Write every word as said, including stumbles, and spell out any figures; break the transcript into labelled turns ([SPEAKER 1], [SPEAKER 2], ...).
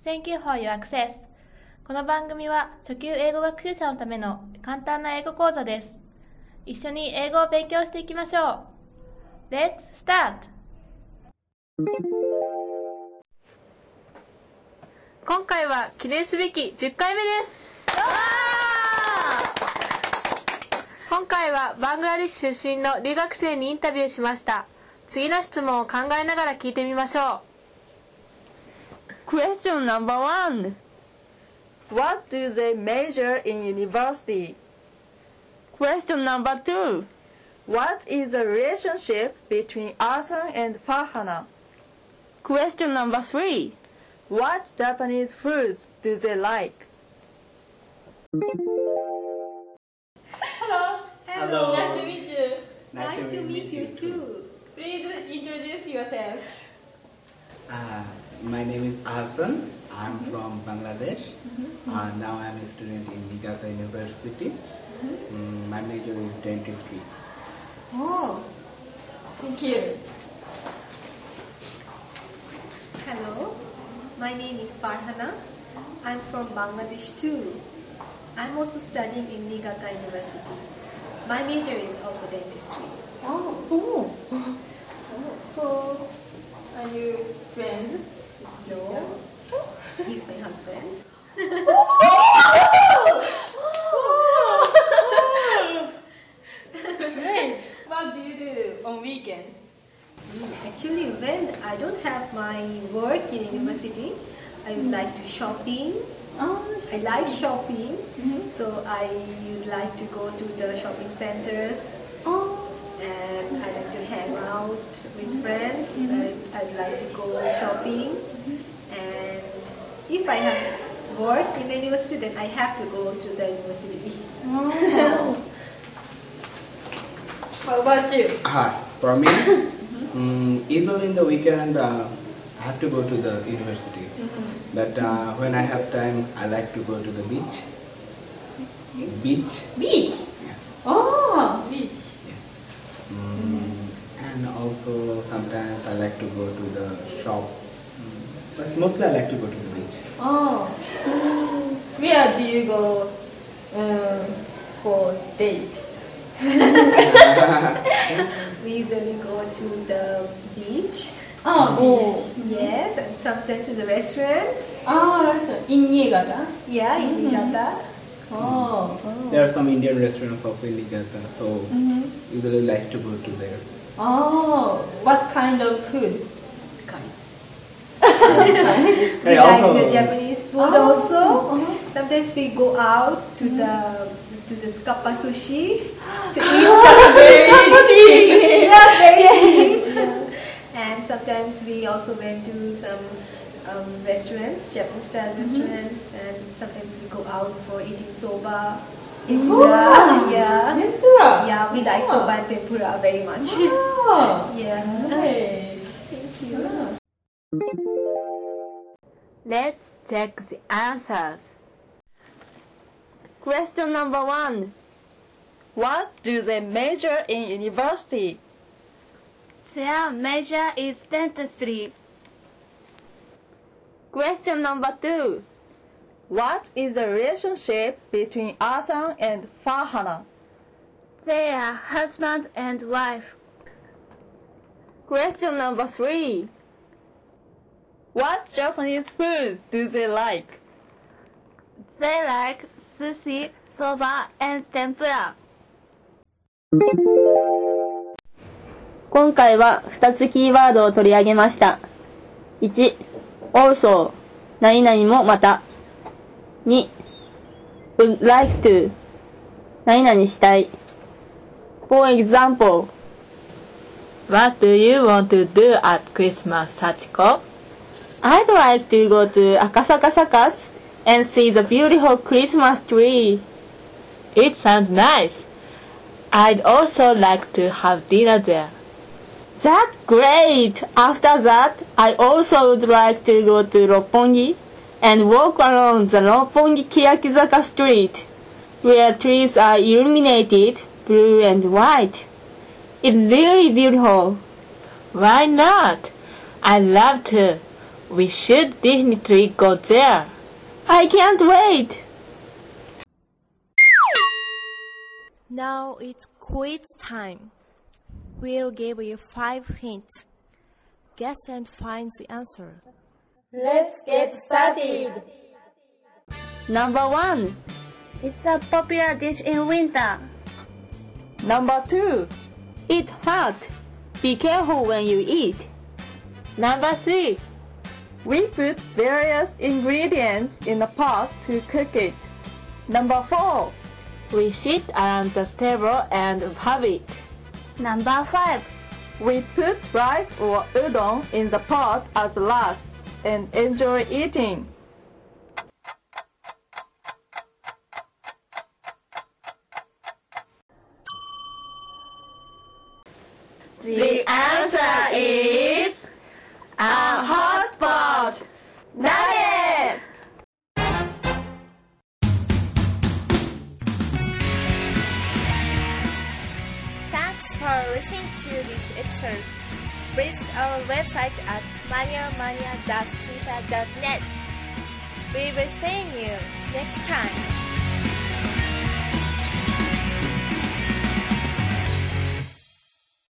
[SPEAKER 1] Thank you for your access. この番組は初級英語学習者のための簡単な英語講座です。一緒に英語を勉強していきましょう。Let's start! 今回は記念すべきじゅっかいめです。今回はバングラデシュ出身の留学生にインタビューしました。次の質問を考えながら聞いてみましょう。
[SPEAKER 2] Question number one.
[SPEAKER 3] What do they major in university?
[SPEAKER 2] Question number two.
[SPEAKER 3] What is the relationship between Arsan and Farhana?
[SPEAKER 2] Question number three.
[SPEAKER 3] What Japanese foods do they like?
[SPEAKER 4] Hello.
[SPEAKER 5] Hello.
[SPEAKER 4] Nice to meet you.
[SPEAKER 5] Nice,
[SPEAKER 6] Nice to meet you too.
[SPEAKER 4] Please introduce yourself.
[SPEAKER 5] Uh, my name is Ahsan. I'm from Bangladesh.
[SPEAKER 4] Mm-hmm.
[SPEAKER 5] Uh, now I'm a student in Niigata University.
[SPEAKER 4] Mm-hmm.
[SPEAKER 5] Mm, my major is dentistry.
[SPEAKER 4] Oh, thank you.
[SPEAKER 6] Hello, my name is Farhana. I'm from Bangladesh too. I'm also studying in Niigata University. My major is also dentistry.
[SPEAKER 4] Oh, oh. oh. So, are you friends?
[SPEAKER 6] No, he's my husband.
[SPEAKER 4] Great. What do you do on weekend?
[SPEAKER 6] Actually, when I don't have my work in university, I would like to shopping.
[SPEAKER 4] Oh,
[SPEAKER 6] I like shopping,
[SPEAKER 4] Mhm.
[SPEAKER 6] so I would like to go to the shopping centers.
[SPEAKER 4] Oh.
[SPEAKER 6] And I like to hang out with friends. I, I'd like to go shopping. And if I have work in the university, then I have to go to the university.
[SPEAKER 4] Oh. What about you?
[SPEAKER 5] Uh, for me, mm, even in the weekend, uh, I have to go to the university.
[SPEAKER 4] Mm-hmm.
[SPEAKER 5] But uh, when I have time, I like to go to the beach. Beach.
[SPEAKER 4] Beach.
[SPEAKER 5] Yeah.
[SPEAKER 4] Oh, beach.
[SPEAKER 5] Mm, and also sometimes I like to go to the shop. Mm, but mostly I like to go to the beach.
[SPEAKER 4] Oh. Where do you go um, for date?
[SPEAKER 6] We usually go to the beach.
[SPEAKER 4] Oh,
[SPEAKER 6] Yes, and sometimes to the restaurants.
[SPEAKER 4] Ah, in Niigata?
[SPEAKER 6] Yeah, in Niigata.
[SPEAKER 4] Oh.
[SPEAKER 5] There are some Indian restaurants also in Niigata, so
[SPEAKER 4] Mm-hmm.
[SPEAKER 5] usually like to go to there.
[SPEAKER 4] Oh, what kind of food?
[SPEAKER 6] We
[SPEAKER 5] Hey,
[SPEAKER 6] like
[SPEAKER 5] also-
[SPEAKER 6] the Japanese food
[SPEAKER 4] Oh.
[SPEAKER 6] also.
[SPEAKER 4] Uh-huh.
[SPEAKER 6] Sometimes we go out to the to the Scappa sushi to eat
[SPEAKER 4] Ah, very
[SPEAKER 6] some sushi.
[SPEAKER 4] cheap.
[SPEAKER 6] Yeah, very cheap. And sometimes we also went to some um, restaurants, Japanese style restaurants, and sometimes we go out for eating soba, tempura.
[SPEAKER 4] Soba.
[SPEAKER 6] Yeah,
[SPEAKER 4] Tempura?
[SPEAKER 6] yeah, we like
[SPEAKER 4] Oh.
[SPEAKER 6] soba and tempura very much.
[SPEAKER 4] Oh.
[SPEAKER 6] Yeah.
[SPEAKER 4] Hey.
[SPEAKER 6] Thank you.
[SPEAKER 1] Let's check the answers.
[SPEAKER 2] Question number one.
[SPEAKER 3] What do they major in university?
[SPEAKER 1] Their major is dentistry.
[SPEAKER 2] Question number two.
[SPEAKER 3] What is the relationship between Arsan and Farhana?
[SPEAKER 1] They are husband and wife.
[SPEAKER 2] Question number three.
[SPEAKER 3] What Japanese foods do they like?
[SPEAKER 1] They like sushi, soba, and tempura.
[SPEAKER 2] 今回はふたつキーワードを取り上げました。いち、also 何々もまた。に、would like to 何々したい。For example,
[SPEAKER 1] What do you want to do at Christmas, Sachiko?
[SPEAKER 2] I'd like to go to Akasaka Circus and see the beautiful Christmas tree.
[SPEAKER 1] It sounds nice. I'd also like to have dinner there.
[SPEAKER 2] That's great! After that, I also would like to go to Roppongi and walk around the Roppongi Kiyakizaka street, where trees are illuminated blue and white. It's really beautiful.
[SPEAKER 1] Why not? I'd love to. We should definitely go there.
[SPEAKER 2] I can't wait!
[SPEAKER 7] Now it's quiz time. We'll give you five hints. Guess and find the answer.
[SPEAKER 8] Let's get started.
[SPEAKER 2] Number one.
[SPEAKER 9] It's a popular dish in winter.
[SPEAKER 3] Number two.
[SPEAKER 2] It's hot. Be careful when you eat.
[SPEAKER 1] Number three.
[SPEAKER 3] We put various ingredients in a pot to cook it. Number four.
[SPEAKER 1] We sit around the table and have it.
[SPEAKER 9] Number five.
[SPEAKER 3] We put rice or udon in the pot as last and enjoy eating.
[SPEAKER 2] The answer is a hot pot. Nugget!
[SPEAKER 7] Thanks for listening to this episode. Visit our website at mania mania dot caesar dot net. We will see you next time.